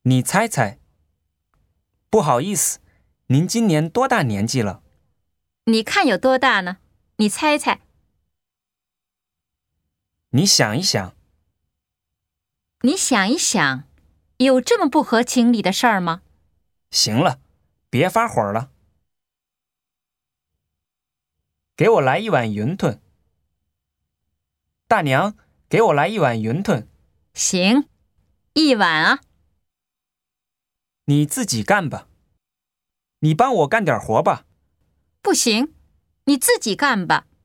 你猜猜。不好意思，您今年多大年纪了？ 你看有多大呢？你猜猜。 你想一想。 你想一想，有这么不合情理的事儿吗？ 行了，别发火了。给我来一碗云吞。大娘，给我来一碗云吞。 行，一碗啊。 你自己干吧。你帮我干点活吧。 不行，你自己干吧。